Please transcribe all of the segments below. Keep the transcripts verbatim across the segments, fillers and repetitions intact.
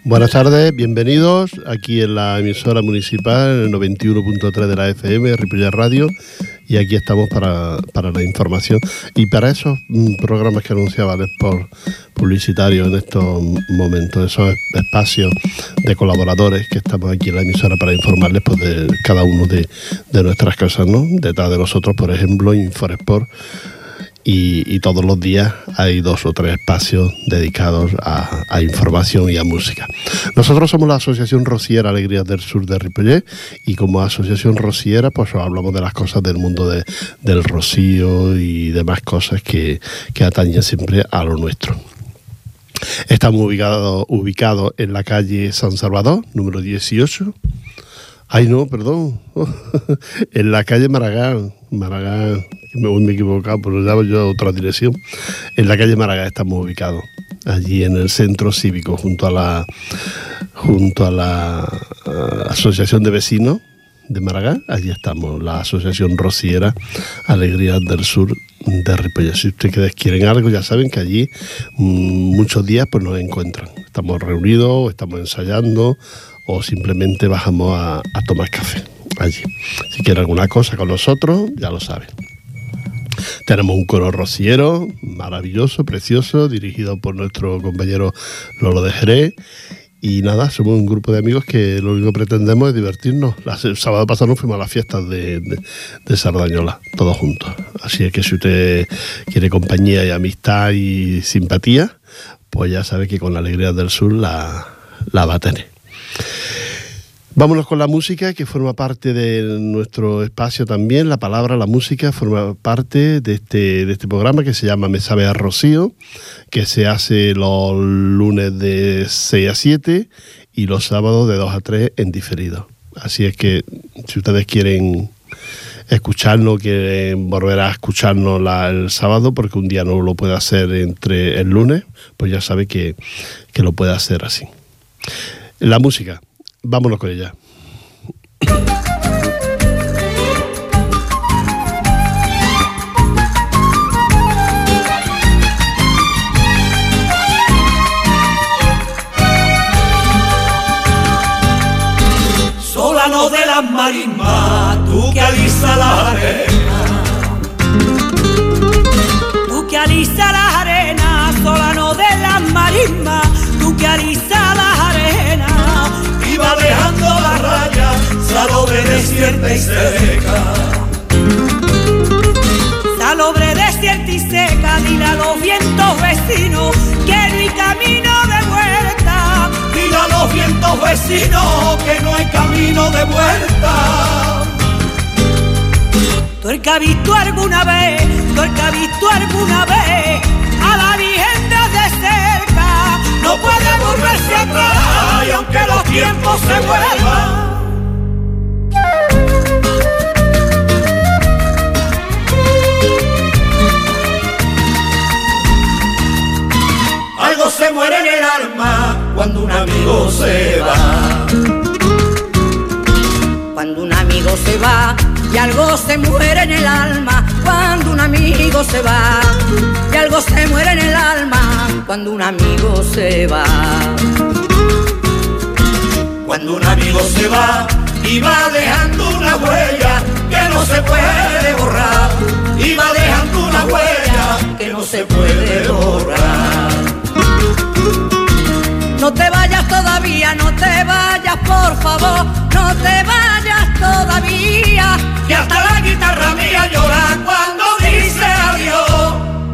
Buenas tardes, bienvenidos aquí en la emisora municipal, en el noventa y uno punto tres de la F M, Ripollet Radio, y aquí estamos para, para la información y para esos programas que anunciaba el spot publicitario en estos momentos, esos espacios de colaboradores que estamos aquí en la emisora para informarles pues, de cada uno de, de nuestras cosas, ¿no? Detrás de nosotros, por ejemplo, Inforesport. Y, y todos los días hay dos o tres espacios dedicados a, a información y a música. Nosotros somos la Asociación Rociera Alegrías del Sur de Ripollet y como Asociación Rociera pues hablamos de las cosas del mundo de, del rocío y demás cosas que, que atañen siempre a lo nuestro. Estamos ubicados ubicado en la calle San Salvador, número dieciocho. Ay, no, perdón. En la calle Maragall. Maragall, me, me he equivocado, pero ya voy yo a otra dirección. En la calle Maragall estamos ubicados. Allí en el centro cívico, junto a la junto a la uh, Asociación de Vecinos de Maragall. Allí estamos, la Asociación Rociera Alegrías del Sur de Ripollet. Si ustedes quieren algo, ya saben que allí mmm, muchos días pues nos encuentran. Estamos reunidos, estamos ensayando o simplemente bajamos a, a tomar café allí. Si quieren alguna cosa con nosotros, ya lo saben. Tenemos un coro rociero maravilloso, precioso, dirigido por nuestro compañero Lolo de Jerez. Y nada, somos un grupo de amigos que lo único que pretendemos es divertirnos. El sábado pasado nos fuimos a las fiestas de, de, de Sardañola, todos juntos. Así es que si usted quiere compañía y amistad y simpatía, pues ya sabe que con la Alegría del Sur la, la va a tener. Vámonos con la música, que forma parte de nuestro espacio también. La palabra, la música, forma parte de este, de este programa que se llama Me Sabe a Rocío, que se hace los lunes de seis a siete y los sábados de dos a tres en diferido. Así es que si ustedes quieren escucharnos, quieren volver a escucharnos la, el sábado, porque un día no lo puede hacer entre el lunes, pues ya sabe que, que lo puede hacer así. La música. Vámonos con ella. Solano de las marismas, tú que alisas la arena. Tú que alisas la arena, solano de las marismas, tú que alisas la arena. Iba dejando la raya, salobre desierta y seca. Salobre desierta y seca, dile a los vientos vecinos que no hay camino de vuelta. Dile a los vientos vecinos que no hay camino de vuelta. Tú el que has visto alguna vez, tú el que has visto alguna vez a la Virgen desde cerca, no puede volverse atrás y aunque los tiempos se vuelvan. Algo se muere en el alma cuando un amigo se va. Cuando un amigo se va y algo se muere en el alma. Cuando un amigo se va y algo se muere en el alma. Cuando un amigo se va. Cuando un amigo se va y va dejando una huella que no se puede borrar. Y va dejando una huella que no se puede borrar. No te vayas todavía, no te vayas por favor, no te vayas todavía, que hasta la guitarra mía llora cuando dice adiós.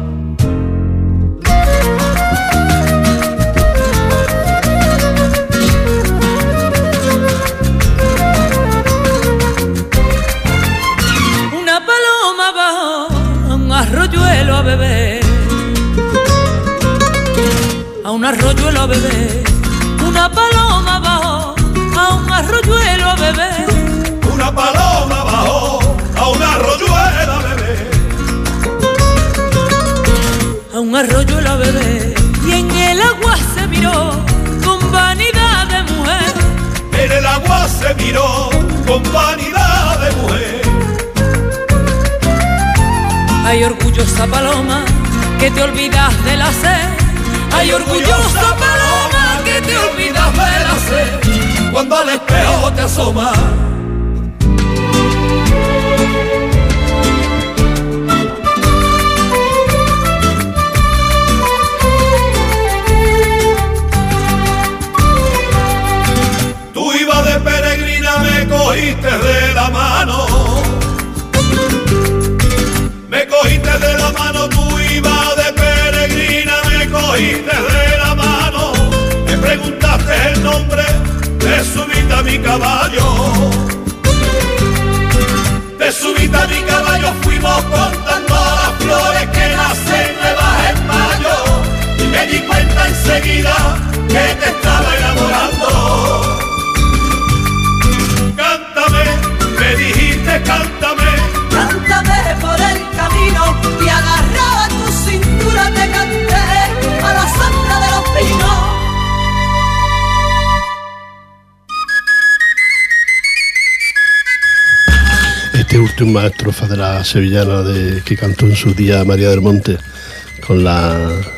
Una paloma va a un arroyuelo a beber, a un arroyuelo a beber. Una paloma bajó a un arroyuelo a beber. Una paloma bajó a un arroyuelo a beber. A un arroyuelo a beber. Y en el agua se miró con vanidad de mujer. En el agua se miró con vanidad de mujer. Ay, orgullosa paloma, que te olvidas de la sed. Ay, orgullosa paloma, que te olvidas las velas sé cuando al espejo te asomas. Tú ibas de peregrina, me cogiste de la mano. Me cogiste de la mano, tú ibas de peregrina, me cogiste de la mano. Me preguntaste el nombre, te subiste a mi caballo. Te subiste a mi caballo, fuimos contando las flores que nacen nuevas en mayo. Y me di cuenta enseguida que te estaba enamorando. Cántame, me dijiste cántame. Cántame por el camino y agarrada a tu cintura te canté a la sombra de los pinos. Este último estrofa de la sevillana de, que cantó en su día María del Monte, con la,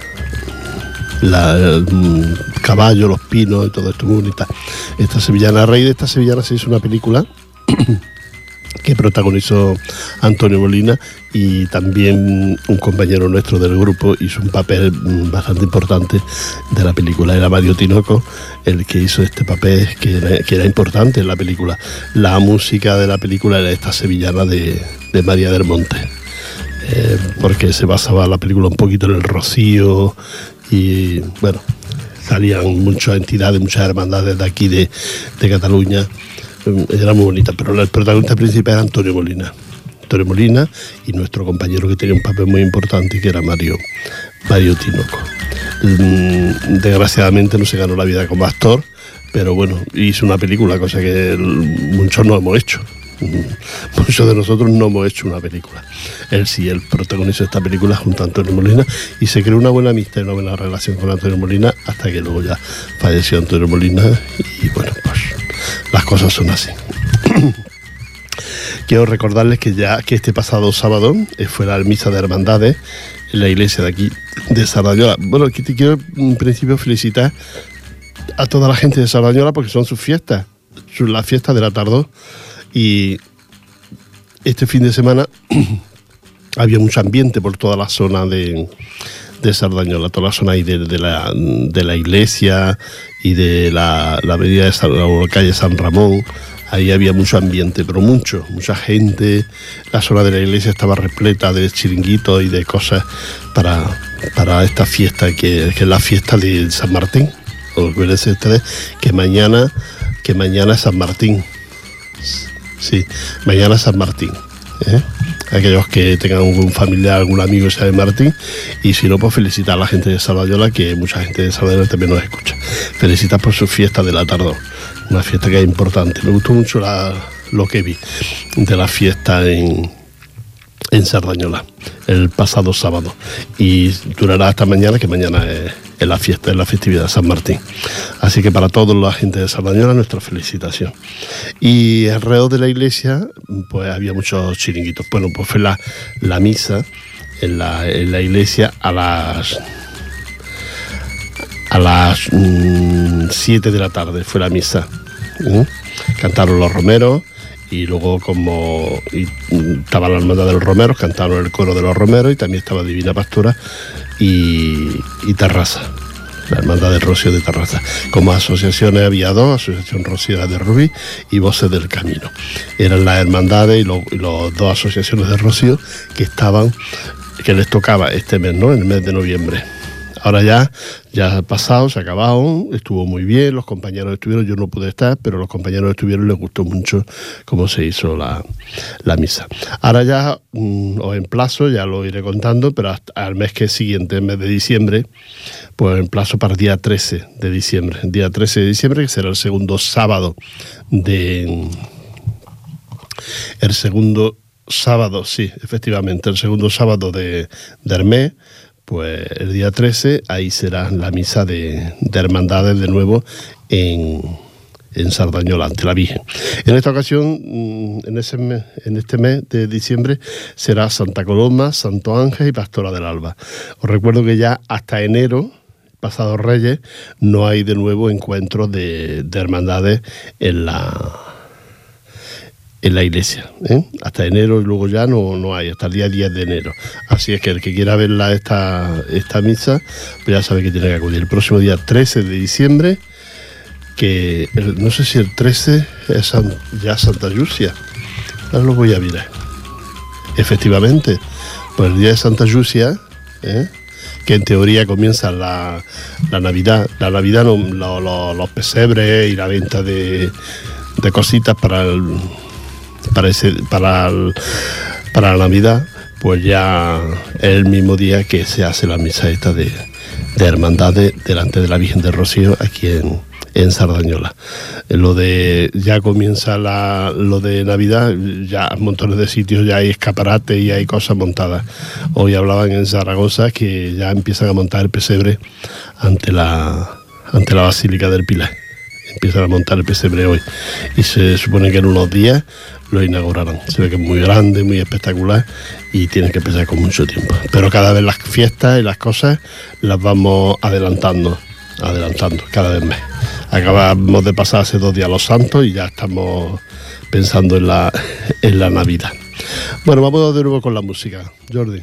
la el caballo, los pinos y todo esto muy bonita. Esta sevillana, a raíz de esta sevillana se hizo una película que protagonizó Antonio Molina, y también un compañero nuestro del grupo hizo un papel bastante importante de la película. Era Mario Tinoco el que hizo este papel, que era, que era importante en la película. La música de la película era esta sevillana de, de María del Monte, eh, porque se basaba la película un poquito en el Rocío, y bueno, salían muchas entidades, muchas hermandades de aquí de, de Cataluña. Era muy bonita, pero el protagonista principal era Antonio Molina. Antonio Molina y nuestro compañero que tenía un papel muy importante, que era Mario, Mario Tinoco. Desgraciadamente no se ganó la vida como actor, pero bueno, hizo una película, cosa que muchos no hemos hecho. Muchos de nosotros no hemos hecho una película. Él sí, él protagonizó esta película junto a Antonio Molina, y se creó una buena amistad y una buena relación con Antonio Molina, hasta que luego ya falleció Antonio Molina, y bueno, pues las cosas son así. Quiero recordarles que ya que este pasado sábado fue la misa de hermandades en la iglesia de aquí de Sardañola. Bueno, aquí te quiero en principio felicitar a toda la gente de Sardañola, porque son sus fiestas, son las fiestas de la Tardó, y este fin de semana había mucho ambiente por toda la zona de, de Sardañola, toda la zona ahí de, de, la, de la iglesia y de la, la avenida de San, la calle San Ramón. Ahí había mucho ambiente, pero mucho, mucha gente. La zona de la iglesia estaba repleta de chiringuitos y de cosas para, para esta fiesta, que, que es la fiesta de San Martín. Acuérdense ustedes que mañana, que mañana es San Martín. Sí, mañana es San Martín, ¿eh? Aquellos que tengan algún familiar, algún amigo que sea de Martín, y si no, pues felicitar a la gente de Sardañola, que mucha gente de Sardañola también nos escucha. Felicitar por su fiesta de la Tardó, una fiesta que es importante. Me gustó mucho la, lo que vi de la fiesta en, en Sardañola el pasado sábado, y durará hasta mañana, que mañana es, es la fiesta, es la festividad de San Martín. Así que para toda la gente de Sardañola, nuestra felicitación. Y alrededor de la iglesia pues había muchos chiringuitos. Bueno, pues fue la, la misa en la, en la iglesia a las a las siete de la tarde fue la misa. ¿Eh? Cantaron los romeros, y luego, como y, estaba la hermandad de los romeros, cantaron el coro de los romeros, y también estaba Divina Pastora y, y Terrassa, la hermandad del Rocío de Terrassa. Como asociaciones había dos: Asociación Rocío de Rubí y Voces del Camino. Eran las hermandades y los, y los dos asociaciones de Rocío que estaban, que les tocaba este mes, ¿no? En el mes de noviembre. Ahora ya, ya ha pasado, se ha acabado, estuvo muy bien, los compañeros estuvieron, yo no pude estar, pero los compañeros estuvieron, les gustó mucho cómo se hizo la, la misa. Ahora ya mm, os emplazo, ya lo iré contando, pero hasta al mes que es siguiente, el mes de diciembre, pues emplazo para el día trece de diciembre. El día trece de diciembre, que será el segundo sábado de... El segundo sábado, sí, efectivamente, el segundo sábado de, de mes. Pues el día trece, ahí será la misa de, de hermandades de nuevo en, en Sardañola, ante la Virgen. En esta ocasión, en, ese mes, en este mes de diciembre, será Santa Coloma, Santo Ángel y Pastora del Alba. Os recuerdo que ya hasta enero, pasados Reyes, no hay de nuevo encuentros de, de hermandades en la en la iglesia, ¿eh? Hasta enero, y luego ya no, no hay, hasta el día diez de enero. Así es que el que quiera verla esta, esta misa, pues ya sabe que tiene que acudir. El próximo día trece de diciembre, que el, no sé si el trece es San, ya Santa Yusia. Ahora lo voy a mirar. Efectivamente, pues el día de Santa Yusia, ¿eh? Que en teoría comienza la, la Navidad, la Navidad, no, lo, lo, los pesebres y la venta de, de cositas para el para ese para el, para la Navidad, pues ya es el mismo día que se hace la misa esta de, de hermandades delante de la Virgen del Rocío aquí en, en Sardañola. Lo de ya comienza la, lo de Navidad, ya en montones de sitios ya hay escaparates y hay cosas montadas. Hoy hablaban en Zaragoza que ya empiezan a montar el pesebre ante la ante la Basílica del Pilar. Empiezan a montar el pesebre hoy y se supone que en unos días lo inaugurarán. Se ve que es muy grande, muy espectacular y tiene que empezar con mucho tiempo. Pero cada vez las fiestas y las cosas las vamos adelantando, adelantando cada vez más. Acabamos de pasar hace dos días los Santos y ya estamos pensando en la, en la Navidad. Bueno, vamos de nuevo con la música. Jordi.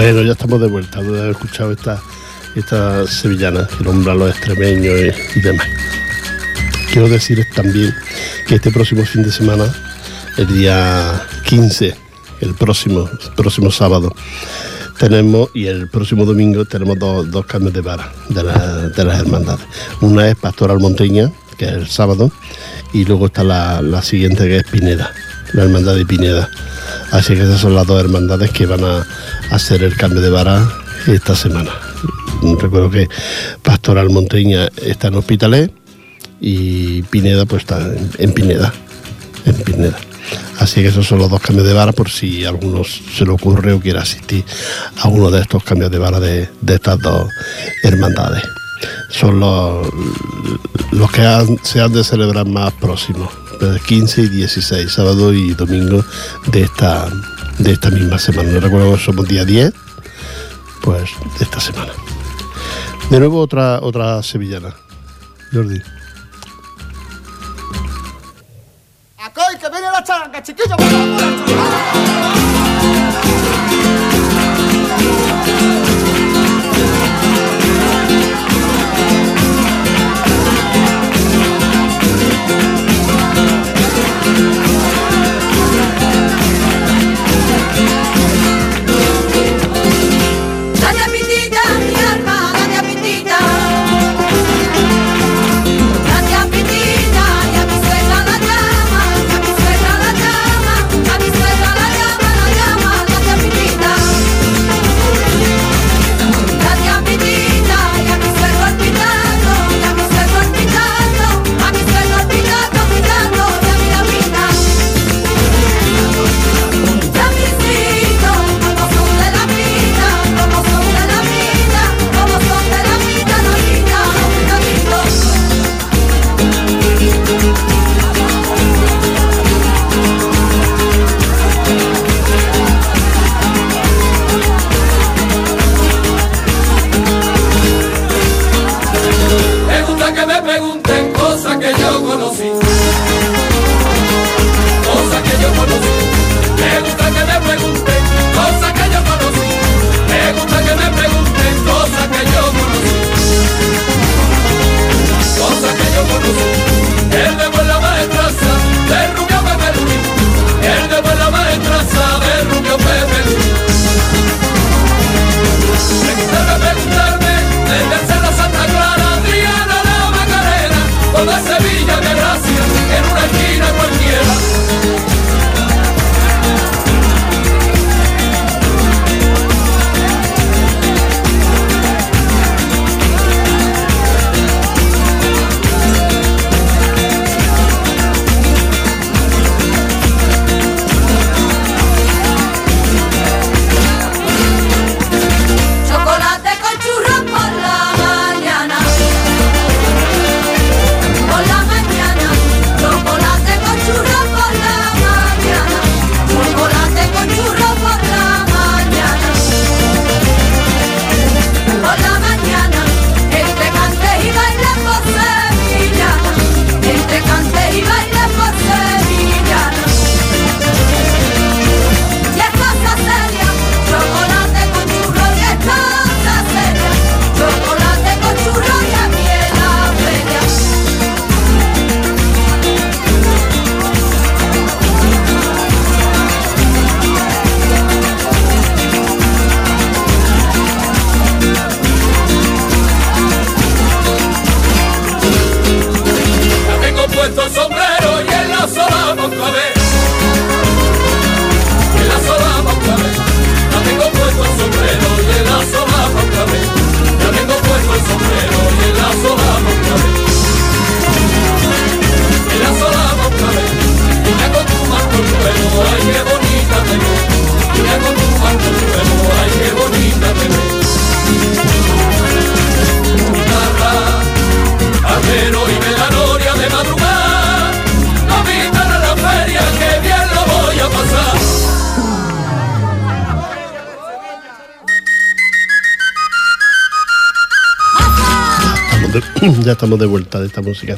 Bueno, ya estamos de vuelta, de haber escuchado esta, esta sevillana que nombra a los extremeños y, y demás. Quiero decirles también que este próximo fin de semana, el día quince, el próximo, el próximo sábado, tenemos, y el próximo domingo tenemos dos, dos cambios de vara de, la, de las hermandades. Una es Pastoral Monteña, que es el sábado, y luego está la, la siguiente, que es Pineda, la hermandad de Pineda. Así que esas son las dos hermandades que van a hacer el cambio de vara esta semana. Recuerdo que Pastoral Monteña está en Hospitalet y Pineda pues está en, en Pineda, en Pineda. Así que esos son los dos cambios de vara, por si a alguno se le ocurre o quiere asistir a uno de estos cambios de vara de, de estas dos hermandades. Son los, los que han, se han de celebrar más próximos, el quince y dieciséis, sábado y domingo de esta, de esta misma semana. No recuerdo que somos día diez, pues de esta semana. De nuevo otra, otra sevillana. Jordi. ¡Acoy, que viene la charanga, chiquillo! ¡Vamos, la charanga! Ya estamos de vuelta de esta música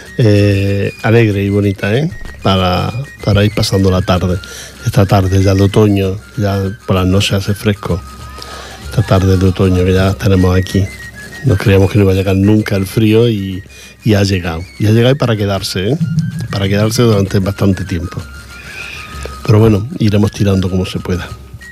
eh, alegre y bonita, ¿eh? Para, para ir pasando la tarde. Esta tarde ya de otoño, ya por las noches hace fresco. esta tarde de otoño que ya tenemos aquí. No creíamos que no iba a llegar nunca el frío y, y ha llegado. Y ha llegado para quedarse, ¿eh? Para quedarse durante bastante tiempo. Pero bueno, iremos tirando como se pueda.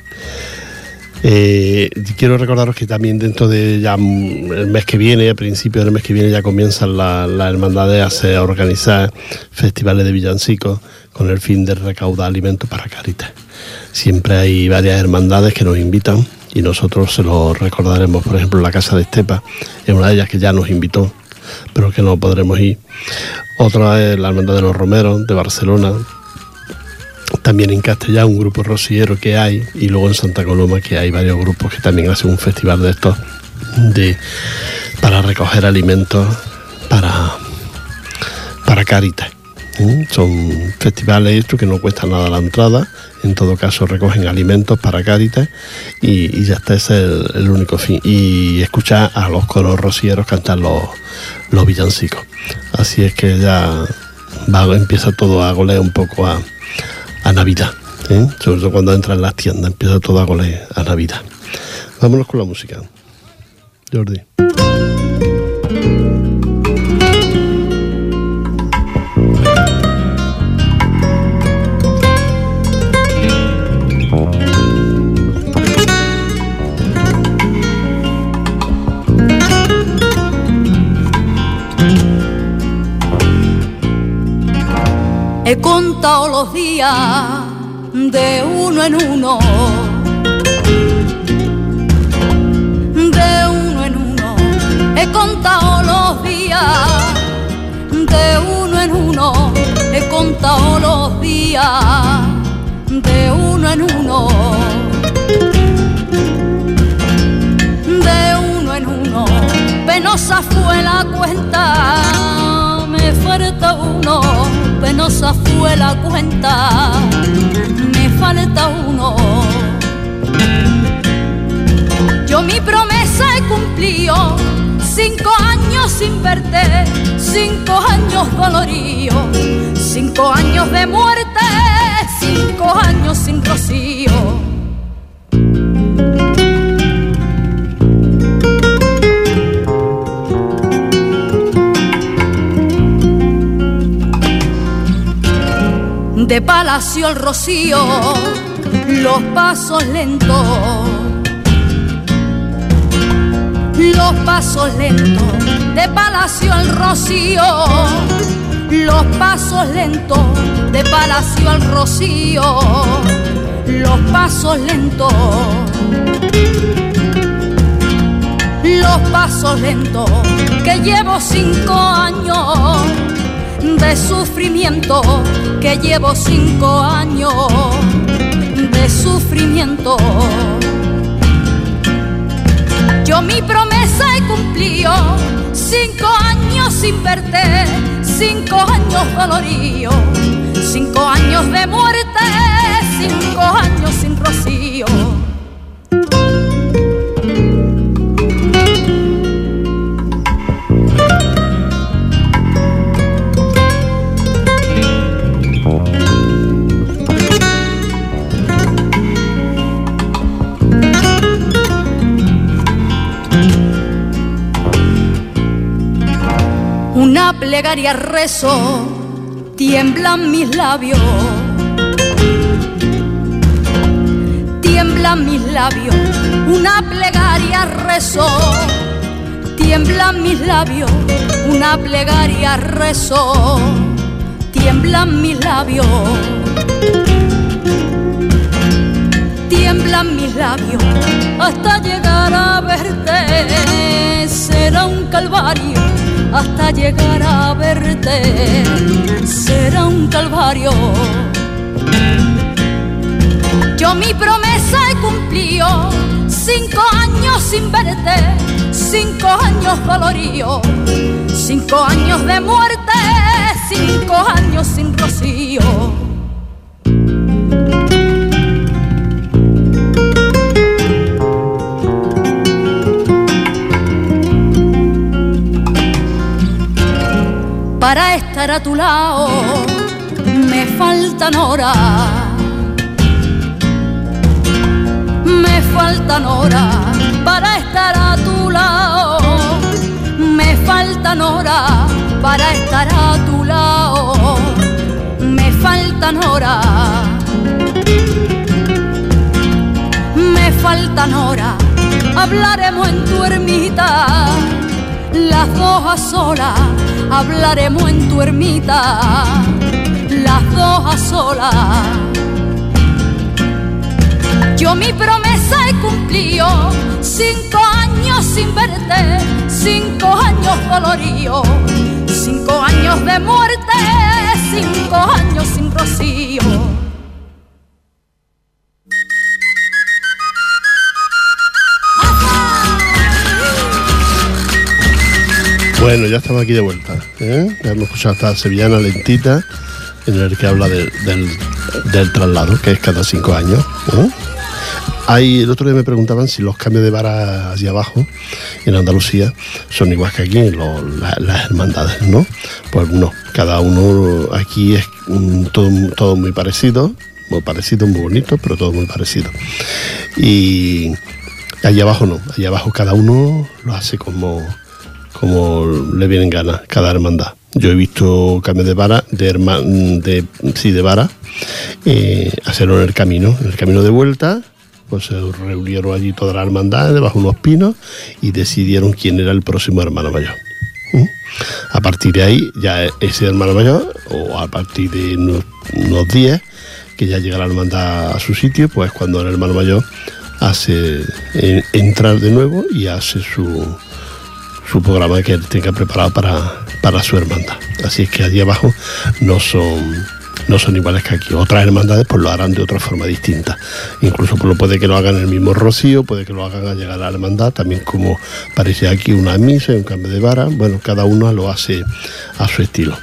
Eh, quiero recordaros que también dentro de ya el mes que viene, a principios del mes que viene, ya comienzan las la hermandades a organizar festivales de villancicos con el fin de recaudar alimentos para Cáritas. Siempre hay varias hermandades que nos invitan y nosotros se lo recordaremos. Por ejemplo, la Casa de Estepa es una de ellas que ya nos invitó, pero que no podremos ir. Otra es la Hermandad de los Romeros de Barcelona. También en Castellá un grupo rociero que hay, y luego en Santa Coloma que hay varios grupos que también hacen un festival de estos de, para recoger alimentos para, para Cáritas. ¿Mm? Son festivales estos que no cuestan nada la entrada, en todo caso recogen alimentos para Cáritas y, y ya está, ese es el, el único fin. Y escuchar a los coros rocieros cantar los, los villancicos. Así es que ya va, empieza todo a golear un poco a a Navidad, ¿eh? Sobre todo cuando entran en las tiendas, empieza todo a golear a Navidad. Vámonos con la música, Jordi. He contado los días de uno en uno, de uno en uno. He contado los días de uno en uno. He contado los días de uno en uno, de uno en uno. Penosa fue la cuenta, me falta uno. Penosa fue la cuenta, me falta uno. Yo mi promesa he cumplido, cinco años sin verte, cinco años dolorido, cinco años de muerte, cinco años sin rocío. De Palacio al Rocío, los pasos lentos, los pasos lentos. De Palacio al Rocío, los pasos lentos. De Palacio al Rocío, los pasos lentos, los pasos lentos. Que llevo cinco años de sufrimiento, que llevo cinco años de sufrimiento. Yo mi promesa he cumplido, cinco años sin verte, cinco años dolorido, cinco años de muerte, cinco años sin rocío. Una plegaria rezo, tiemblan mis labios, tiemblan mis labios. Una plegaria rezo, tiemblan mis labios. Una plegaria rezo, tiemblan mis labios, tiemblan mis labios. Hasta llegar a verte será un calvario, hasta llegar a verte será un calvario. Yo mi promesa he cumplido, cinco años sin verte, cinco años dolorido, cinco años de muerte, cinco años sin rocío. Para estar a tu lado me faltan horas, me faltan horas. para estar a tu lado, me faltan horas para estar a tu lado, me faltan horas, me faltan horas, hablaremos en tu ermita, las dos a solas, hablaremos en tu ermita, las dos a solas. Yo mi promesa he cumplido, cinco años sin verte, cinco años doloridos, cinco años de muerte, cinco años sin rocío. Bueno, ya estamos aquí de vuelta, ¿eh? Ya hemos escuchado esta sevillana lentita en el que habla de, del, del traslado, que es cada cinco años, ¿eh? Hay, el otro día me preguntaban si los cambios de vara hacia abajo en Andalucía son igual que aquí, lo, la, las hermandades, ¿no? Pues no, cada uno aquí es um, todo, todo muy parecido, muy parecido, muy bonito, pero todo muy parecido. Y allá abajo no, allá abajo cada uno lo hace como, como le vienen ganas, cada hermandad. Yo he visto cambios de vara, de, herma, de, sí, de vara, eh, hacerlo en el camino, en el camino de vuelta. Pues se reunieron allí toda la hermandad debajo de unos pinos y decidieron quién era el próximo hermano mayor. ¿Mm? A partir de ahí, ya ese hermano mayor, o a partir de unos, unos días, que ya llega la hermandad a su sitio, pues cuando el hermano mayor hace eh, entrar de nuevo y hace su, su programa que él tenga preparado para, para su hermandad. Así es que allí abajo no son... no son iguales que aquí. Otras hermandades pues lo harán de otra forma distinta. Incluso pues, lo puede que lo hagan en el mismo rocío, puede que lo hagan al llegar a la hermandad, también como parece aquí una misa, un cambio de vara. Bueno, cada uno lo hace a su estilo.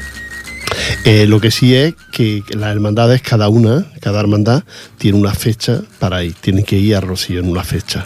Eh, lo que sí es que las hermandades, cada una, cada hermandad tiene una fecha para ir, tienen que ir a rocío en una fecha.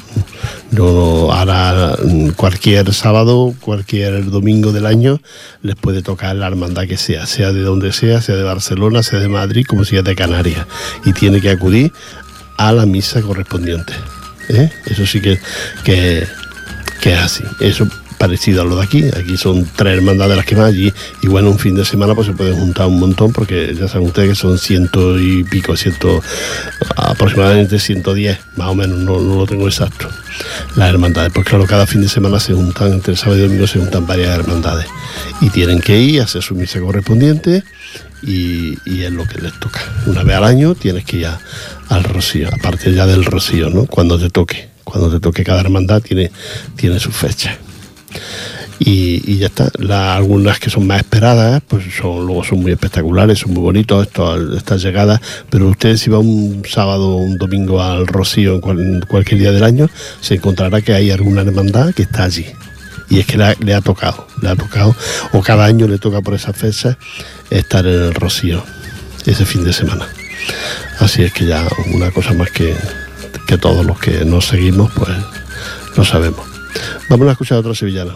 No, ahora cualquier sábado, cualquier domingo del año les puede tocar la hermandad que sea, sea de donde sea, sea de Barcelona, sea de Madrid, como sea de Canarias, y tiene que acudir a la misa correspondiente, ¿eh? Eso sí que, que, que es así. Eso parecido a lo de aquí. Aquí son tres hermandades las que más allí, y bueno, un fin de semana pues se pueden juntar un montón, porque ya saben ustedes que son ciento y pico, ciento, aproximadamente ciento diez, más o menos, no, no lo tengo exacto, las hermandades. Pues claro, cada fin de semana se juntan, entre sábado y domingo se juntan varias hermandades y tienen que ir a hacer su misa correspondiente, y, y es lo que les toca. Una vez al año tienes que ir a, al rocío, aparte ya del rocío, ¿no? Cuando te toque, cuando te toque cada hermandad tiene, tiene su fecha. Y, y ya está. La, algunas que son más esperadas, pues son, luego son muy espectaculares, son muy bonitos esto, estas llegadas. Pero usted, si va un sábado o un domingo al rocío en, cual, en cualquier día del año, se encontrará que hay alguna hermandad que está allí, y es que le, le ha tocado le ha tocado o cada año le toca por esa fecha estar en el rocío ese fin de semana. Así es que ya una cosa más que, que todos los que nos seguimos pues lo sabemos. Vamos a escuchar a otra sevillana.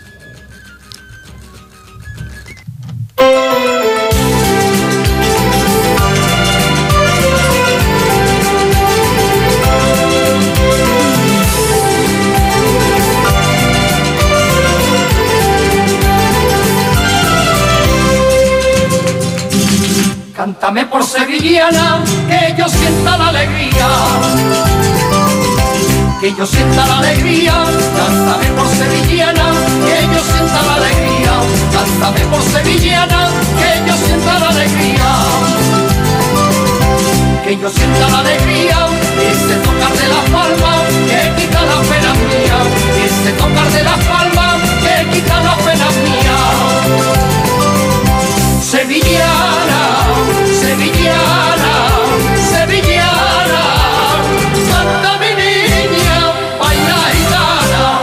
Cántame por sevillana, que yo sienta la alegría, que yo sienta la alegría. Cántame por sevillana, que yo sienta la alegría. Cántame por sevillana, que yo sienta la alegría, que yo sienta la alegría. Ese tocar de las palmas que quita las penas mías, ese tocar de las palmas que quita las penas mías. Sevillana, sevillana, sevillana, canta mi niña, baila gitana.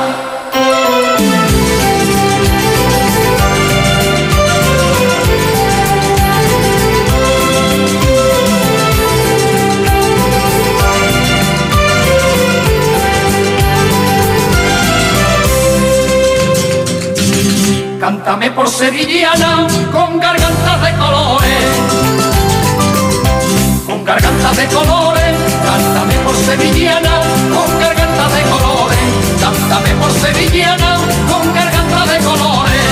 Cántame por sevillana, con gargantas de colores, con gargantas de colores. Cántame por sevillana, con gargantas garganta de colores, cántame por sevillana con garganta de colores,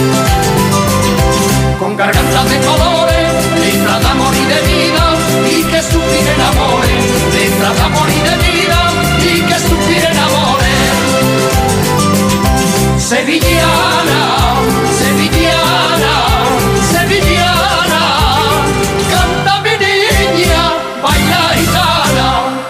con garganta de colores, letra de amor y de vida, y que suspiren amores, letra de amor y de vida, y que suspiren amores. Sevillana, sevillana, sevillana, canta mi niña, baila gitana.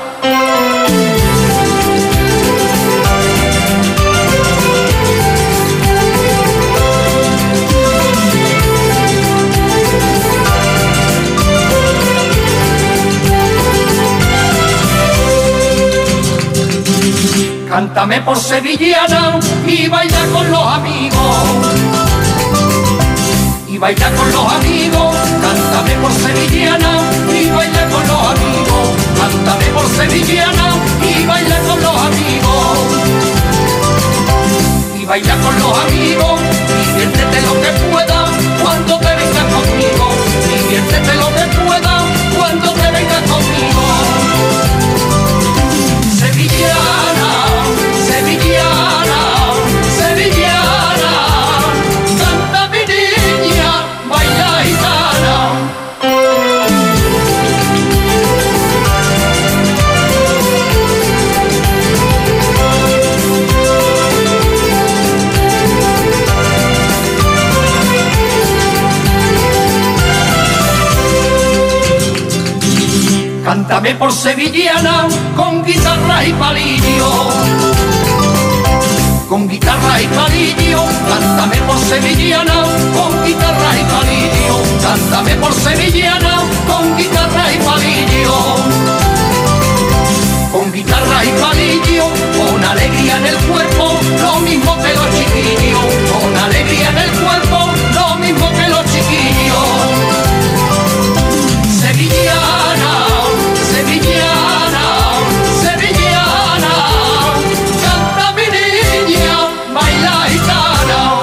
Cántame por sevillana y baila con los amigos, y baila con los amigos, cántame por sevillana y baila con los amigos, cántame por sevillana y baila con los amigos, y baila con los amigos, diviértete lo que pueda cuando te vengas conmigo, diviértete lo que pueda cuando te vengas conmigo. Sevillana, sevillana, sevillana, canta mi niña, baila gitana. Cántame por sevillana con guitarra y palillo, con guitarra y palillo, cántame por sevillana con guitarra y palillo, cántame por sevillana con guitarra y palillo, con guitarra y palillo, con alegría en el cuerpo, lo mismo que los chiquillos, con alegría en el cuerpo, lo mismo que los chiquillos. Sevillana, sevillana, sevillana, canta mi niña, baila gitana.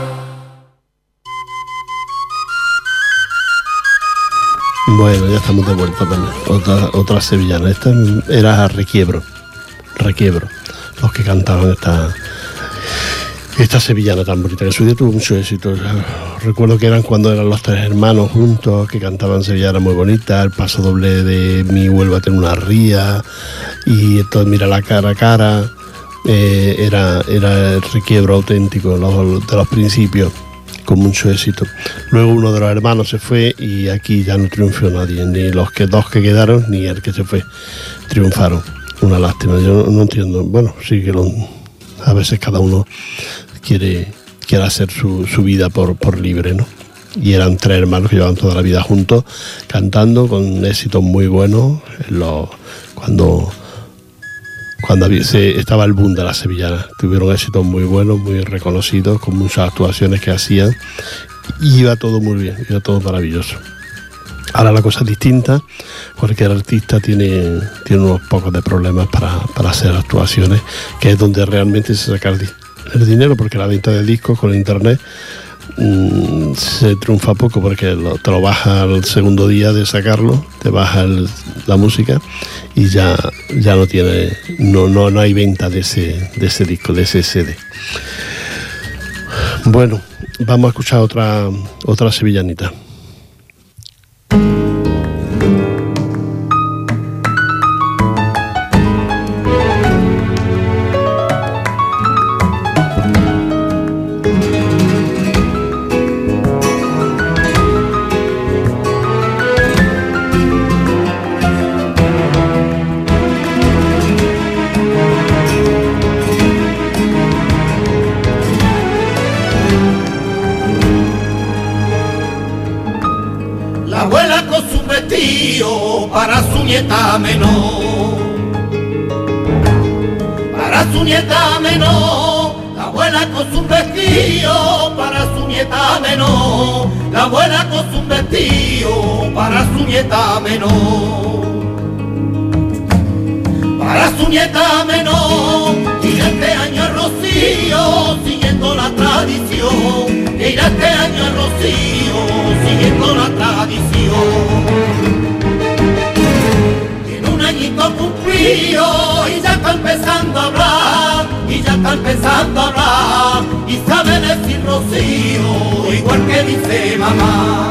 Bueno, ya estamos de vuelta también. Otra, otra sevillana. Esta era Requiebro. Requiebro. Los que cantaban esta, esta sevillana tan bonita, que en su día tuvo mucho éxito. Recuerdo que eran cuando eran los tres hermanos juntos, que cantaban sevillana muy bonita, el paso doble de Mi Huelva tiene una ría, y entonces Mira la cara a cara. Eh, era, era el Requiebro auténtico los, de los principios, con mucho éxito. Luego uno de los hermanos se fue y aquí ya no triunfó nadie, ni los que dos que quedaron ni el que se fue triunfaron. Una lástima, yo no, no entiendo. Bueno, sí que lo, a veces cada uno quiere, quiere hacer su, su vida por, por libre, ¿no? Y eran tres hermanos que llevaban toda la vida juntos, cantando con éxitos muy buenos. Los, cuando cuando había, se, estaba el boom de las sevillanas, tuvieron éxitos muy buenos, muy reconocidos, con muchas actuaciones que hacían, y iba todo muy bien, iba todo maravilloso. Ahora la cosa es distinta, cualquier artista tiene, tiene unos pocos de problemas para, para hacer actuaciones, que es donde realmente se saca el, el dinero, porque la venta de discos con internet mmm, se triunfa poco, porque lo, te lo baja al segundo día de sacarlo, te baja el, la música y ya, ya no tiene, no, no, no hay venta de ese, de ese disco, de ese C D. Bueno, vamos a escuchar otra, otra sevillanita. Para su nieta menor, para su nieta menor, la abuela con su vestido, para su nieta menor, la abuela con su vestido, para su nieta menor, para su nieta menor, irá este año a Rocío, siguiendo la tradición, irá este año a Rocío, siguiendo la tradición. Añito cumplido y ya con empezando a hablar, y ya está empezando a hablar, y sabe decir Rocío, igual que dice mamá.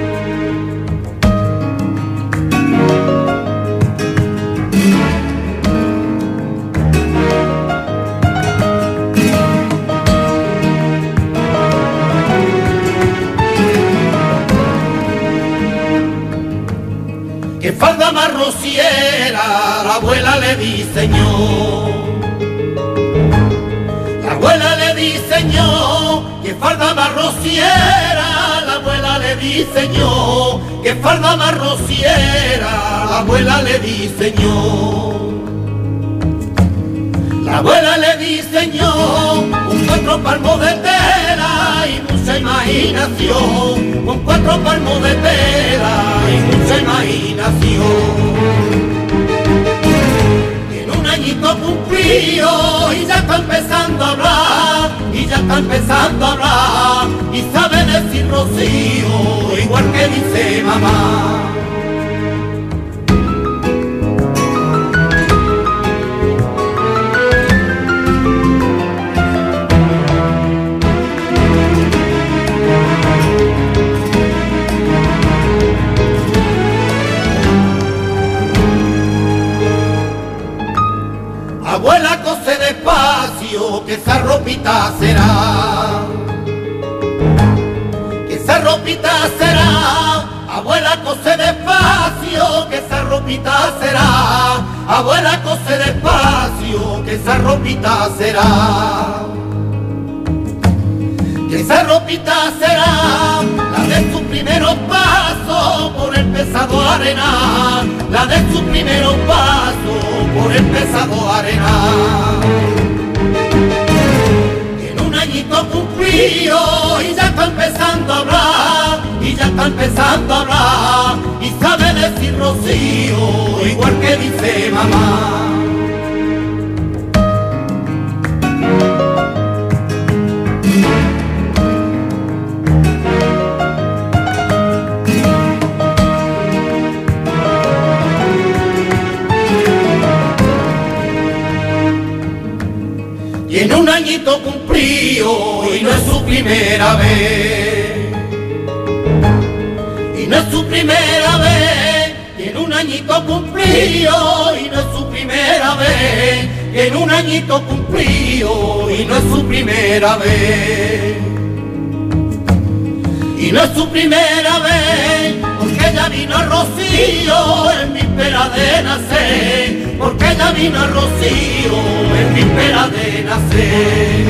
Que falda más rociera, la abuela le diseñó. La abuela le diseñó, que falda más rociera, la abuela le diseñó, que falda más rociera, la abuela le diseñó. La abuela le diseñó un cuatro palmos de tela y mucha imaginación, con cuatro palmos de tela y mucha imaginación. En un añito cumplido y ya está empezando a hablar, y ya está empezando a hablar, y sabe decir Rocío, igual que dice mamá. Abuela, cose despacio, que esa ropita será, que esa ropita será. Abuela, cose despacio, que esa ropita será. Abuela, cose despacio, que esa ropita será. Que esa ropita será la de sus primeros pasos por el pesado arenal, la de sus primeros pasos por el pesado arenal. En un añito cumplido y ya está empezando a hablar, y ya está empezando a hablar, y sabe decir Rocío, igual que dice mamá. En un añito cumplido y no es su primera vez, y no es su primera vez, y en un añito cumplido y no es su primera vez, y en un añito cumplido y no es su primera vez, y no es su primera vez, porque ella vino a Rocío en víspera de nacer, porque ella vino a Rocío en víspera de nacer.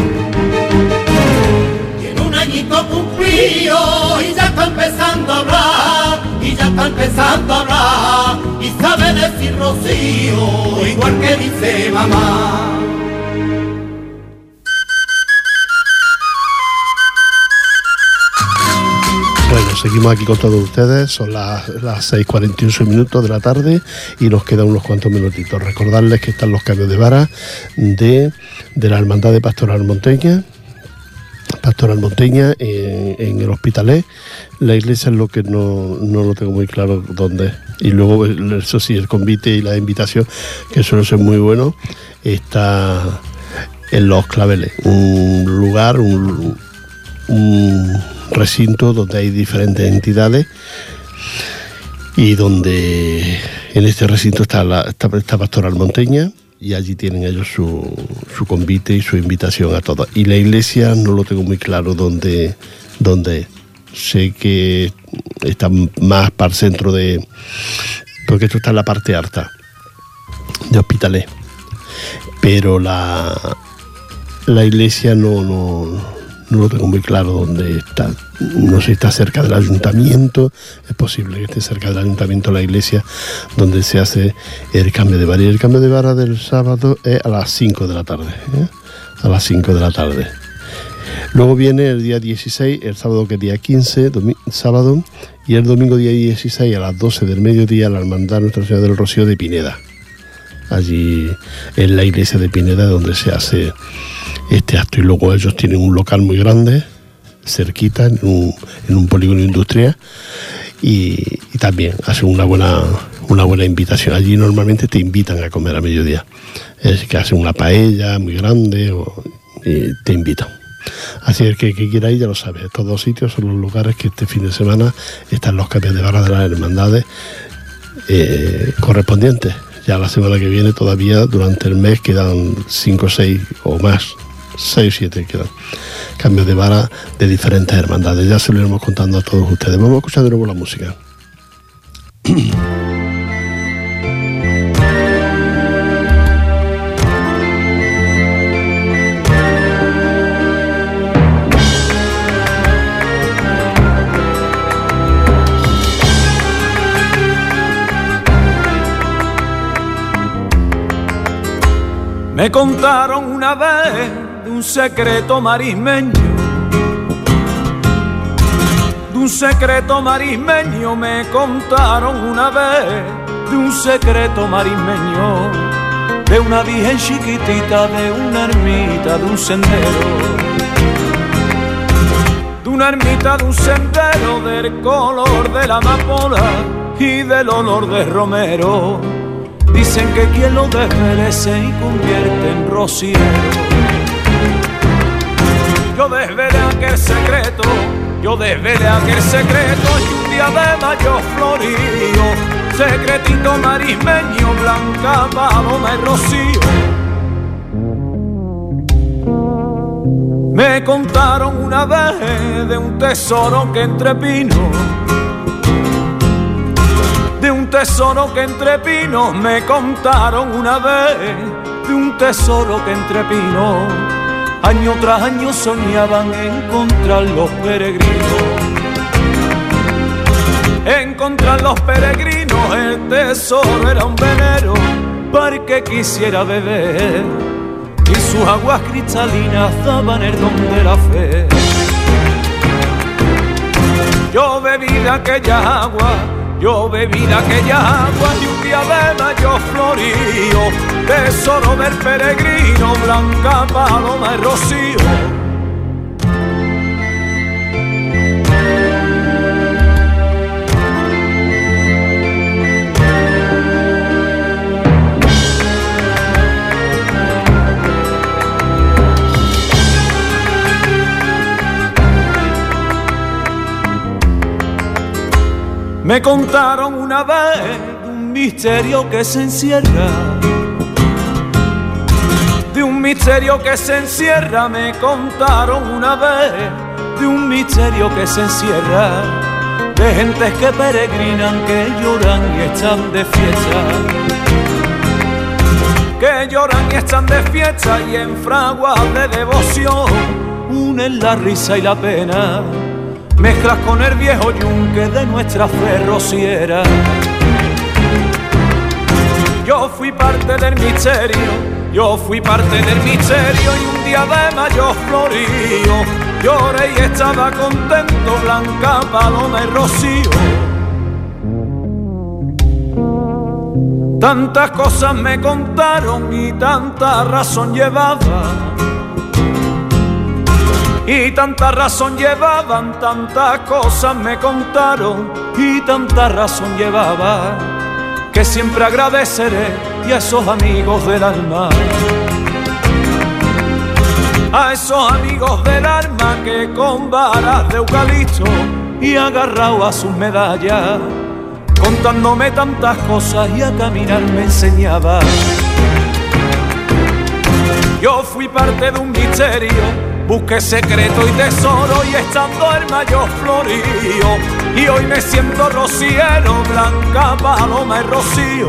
Y en un añito cumplido y ya está empezando a hablar, y ya está empezando a hablar, y sabe decir Rocío, igual que dice mamá. Bueno, seguimos aquí con todos ustedes, son las, las seis cuarenta y ocho minutos de la tarde y nos quedan unos cuantos minutitos. Recordarles que están los cambios de vara de, de la Hermandad de Pastoral Monteña, Pastoral Monteña en, en el Hospitalet. La iglesia es lo que no, no lo tengo muy claro dónde es. Y luego, eso sí, el convite y la invitación, que suele ser muy bueno, está en Los Claveles, un lugar, un, un recinto donde hay diferentes entidades y donde en este recinto está la está, está Pastoral Monteña y allí tienen ellos su, su convite y su invitación a todos. Y la iglesia no lo tengo muy claro dónde, dónde es. Sé que está más para el centro de... porque esto está en la parte alta de Hospitalet. Pero la, la iglesia no... no No lo tengo muy claro dónde está. No sé si está cerca del ayuntamiento. Es posible que esté cerca del ayuntamiento la iglesia donde se hace el cambio de vara. Y el cambio de vara del sábado es a las cinco de la tarde. ¿eh? A las cinco de la tarde. Luego viene el día dieciséis, el sábado que es día quince, sábado, y el domingo día dieciséis a las doce del mediodía la Hermandad Nuestra Señora del Rocío de Pineda. Allí en la iglesia de Pineda donde se hace este acto. Y luego ellos tienen un local muy grande cerquita en un, en un polígono industrial y, y también hacen una buena una buena invitación. Allí normalmente te invitan a comer a mediodía. Es que hacen una paella muy grande o, y te invitan. Así que el que, que quiera ir ya lo sabe. Estos dos sitios son los lugares que este fin de semana están los cambios de barra de las hermandades eh, correspondientes. Ya la semana que viene todavía durante el mes quedan cinco, seis o más, seis o siete quedan cambios de vara de diferentes hermandades. Ya se lo iremos contando a todos ustedes. Vamos a escuchar de nuevo la música. Me contaron una vez de un secreto marismeño, de un secreto marismeño, me contaron una vez de un secreto marismeño, de una virgen chiquitita, de una ermita, de un sendero, de una ermita, de un sendero, del color de la amapola y del olor de romero. Dicen que quien lo desmerece y convierte en rociero. Yo desvelé aquel secreto, yo desvelé aquel secreto y un día de mayo florío, secretito marismeño, blanca, paloma y rocío. Me contaron una vez de un tesoro que entre pinos, de un tesoro que entre pinos, me contaron una vez de un tesoro que entre pinos, año tras año soñaban encontrar los peregrinos, encontrar los peregrinos. El tesoro era un venero para el que quisiera beber y sus aguas cristalinas daban el don de la fe. Yo bebí de aquella agua, yo bebí de aquella agua y un día de mayo florío, tesoro del peregrino, blanca, paloma y rocío. Me contaron una vez de un misterio que se encierra, de un misterio que se encierra. Me contaron una vez de un misterio que se encierra, de gentes que peregrinan, que lloran y están de fiesta, que lloran y están de fiesta y en fraguas de devoción unen la risa y la pena, mezclas con el viejo yunque de nuestra fe rociera. Yo fui parte del misterio, yo fui parte del misterio y un día de mayo florío, lloré y estaba contento, blanca, paloma y rocío. Tantas cosas me contaron y tanta razón llevaba, y tanta razón llevaban, tantas cosas me contaron y tanta razón llevaba, que siempre agradeceré y a esos amigos del alma, a esos amigos del alma que con varas de eucalipto y agarrado a sus medallas, contándome tantas cosas y a caminar me enseñaba. Yo fui parte de un misterio, busqué secreto y tesoro y estando el mayo florío, y hoy me siento rociero, blanca, paloma y rocío.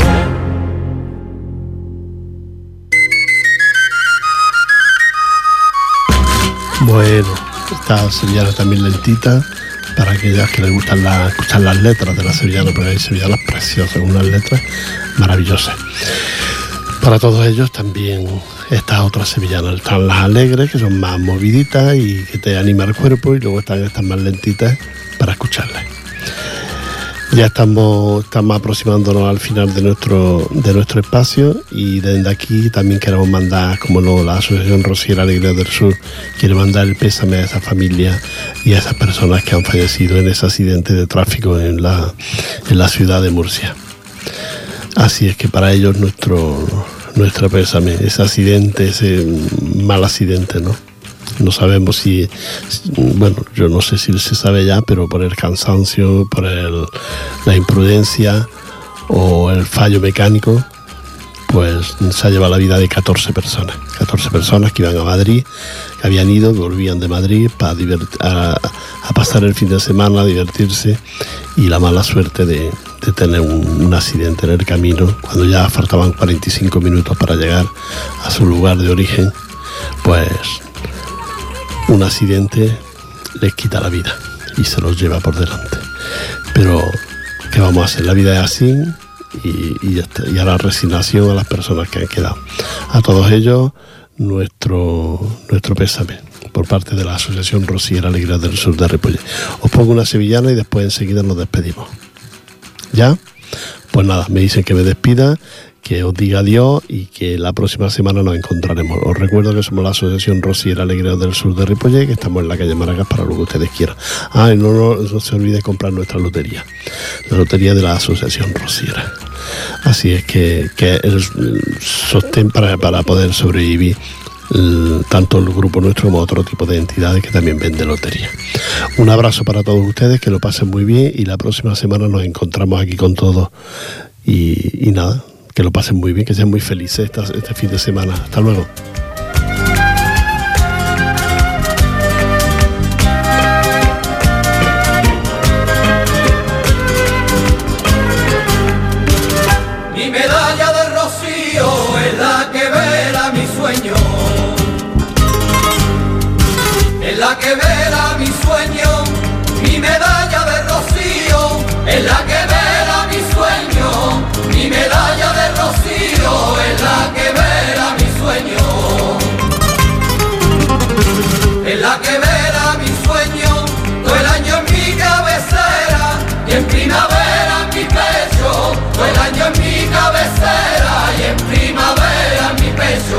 Bueno, esta sevillana también lentita, para aquellas que les gustan la, escuchar las letras de la sevillana, porque hay sevillanas preciosas, unas letras maravillosas. Para todos ellos también estas otras sevillanas. Están las alegres, que son más moviditas y que te anima el cuerpo, y luego están estas más lentitas para escucharlas. Ya estamos, estamos aproximándonos al final de nuestro, de nuestro espacio, y desde aquí también queremos mandar, como lo, la Asociación Rociera Alegre del Sur quiere mandar el pésame a esa familia y a esas personas que han fallecido en ese accidente de tráfico en la, en la ciudad de Murcia. Así es que para ellos nuestro nuestra pésame, ese accidente, ese mal accidente, ¿no? No sabemos si, bueno, yo no sé si se sabe ya, pero por el cansancio, por el, la imprudencia o el fallo mecánico, pues se ha llevado la vida de catorce personas. catorce personas que iban a Madrid, que habían ido, que volvían de Madrid para divert- a, a pasar el fin de semana, a divertirse, y la mala suerte de, de tener un, un accidente en el camino, cuando ya faltaban cuarenta y cinco minutos para llegar a su lugar de origen, pues un accidente les quita la vida y se los lleva por delante. Pero, ¿qué vamos a hacer? La vida es así y, y, ya está. Y a la resignación a las personas que han quedado. A todos ellos, nuestro, nuestro pésame por parte de la Asociación Rosiera Alegría del Sur de Ripollet. Os pongo una sevillana y después enseguida nos despedimos. ¿Ya? Pues nada, me dicen que me despida, que os diga adiós y que la próxima semana nos encontraremos. Os recuerdo que somos la Asociación Rosiera Alegría del Sur de Ripollet, que estamos en la calle Maracas para lo que ustedes quieran. Ah, y no, no, no se olvide comprar nuestra lotería, la lotería de la Asociación Rosiera. Así es que, que el, el sostén para, para poder sobrevivir, el, tanto el grupo nuestro como otro tipo de entidades que también venden lotería. Un abrazo para todos ustedes, que lo pasen muy bien y la próxima semana nos encontramos aquí con todos y, y nada, que lo pasen muy bien, que sean muy felices esta, este fin de semana. Hasta luego. Mi medalla de rocío es la que vela mi sueño, es la que vela mi sueño. Mi medalla de rocío es la que vela mi sueño. Mi medalla de rocío es la que vela mi sueño, es la que vela mi sueño. Todo el año en mi cabecera y en primavera en mi pecho. Todo el año en mi cabecera y en primavera en mi pecho.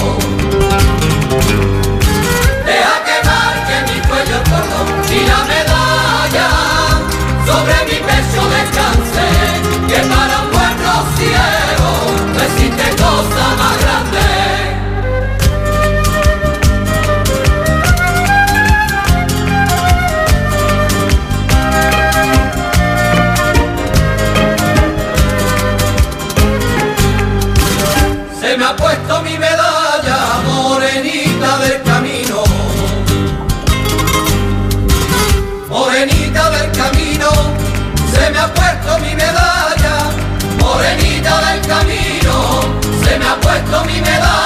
Deja que marque mi cuello el cordón y la medalla sobre mi pecho descanse, que para un buen rociero no existe cosa más grande. Se me ha puesto mi medalla morenita del camino, morenita del camino. Se me ha puesto mi medalla morenita del camino, se me ha puesto mi medalla.